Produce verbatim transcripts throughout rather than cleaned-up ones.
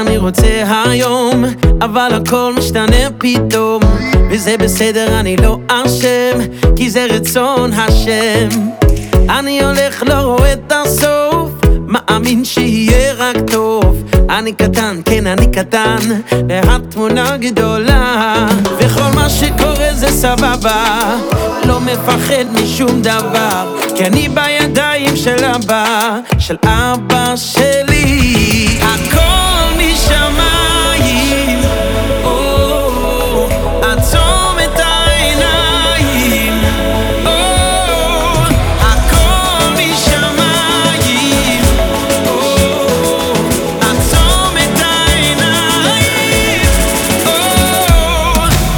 אני רוצה היום, אבל הכל משתנה פתאום, וזה בסדר, אני לא אשם, כי זה רצון השם. אני הולך, לא רואה את הסוף, מאמין שיהיה רק טוב. אני קטן, כן אני קטן, והתמונה גדולה, וכל מה שקורה זה סבבה, לא מפחד משום דבר, כי אני בידיים של אבא, של אבא שלי. הכל משמיים, או, עצום את העיניים, או, הכל משמיים, או, עצום את העיניים, או.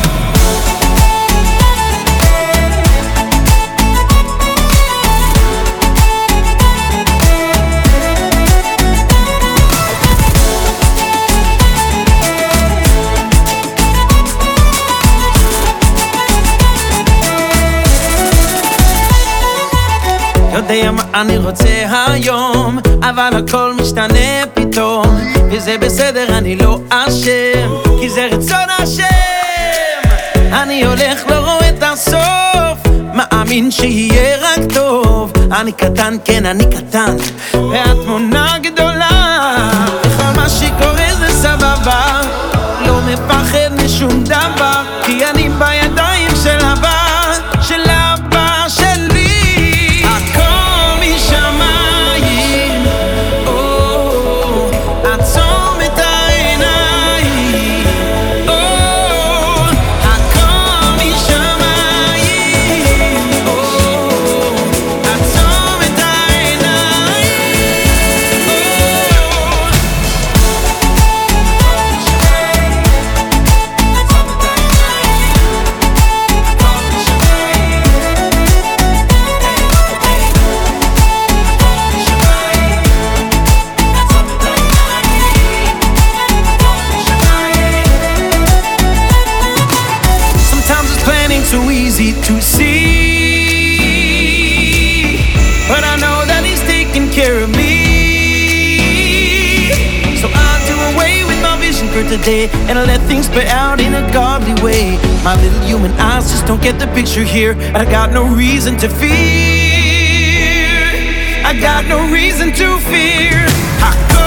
יודע מה אני רוצה היום, אבל הכל משתנה פתאום, וזה בסדר, אני לא אשם, כי זה רצון השם. אני הולך, לא רואה את הסוף, מאמין שיהיה רק טוב. אני קטן, כן אני קטן, והתמונה גדולה, וכל מה שקורה זה סבבה, לא מפחד משום דבר, כי אני בידיים של אבא, של אבא שלי. So easy to see, but I know that he's taking care of me. So I'll do away with my vision for today, and I'll let things play out in a godly way. My little human eyes just don't get the picture here, but I got no reason to fear. I got no reason to fear. I go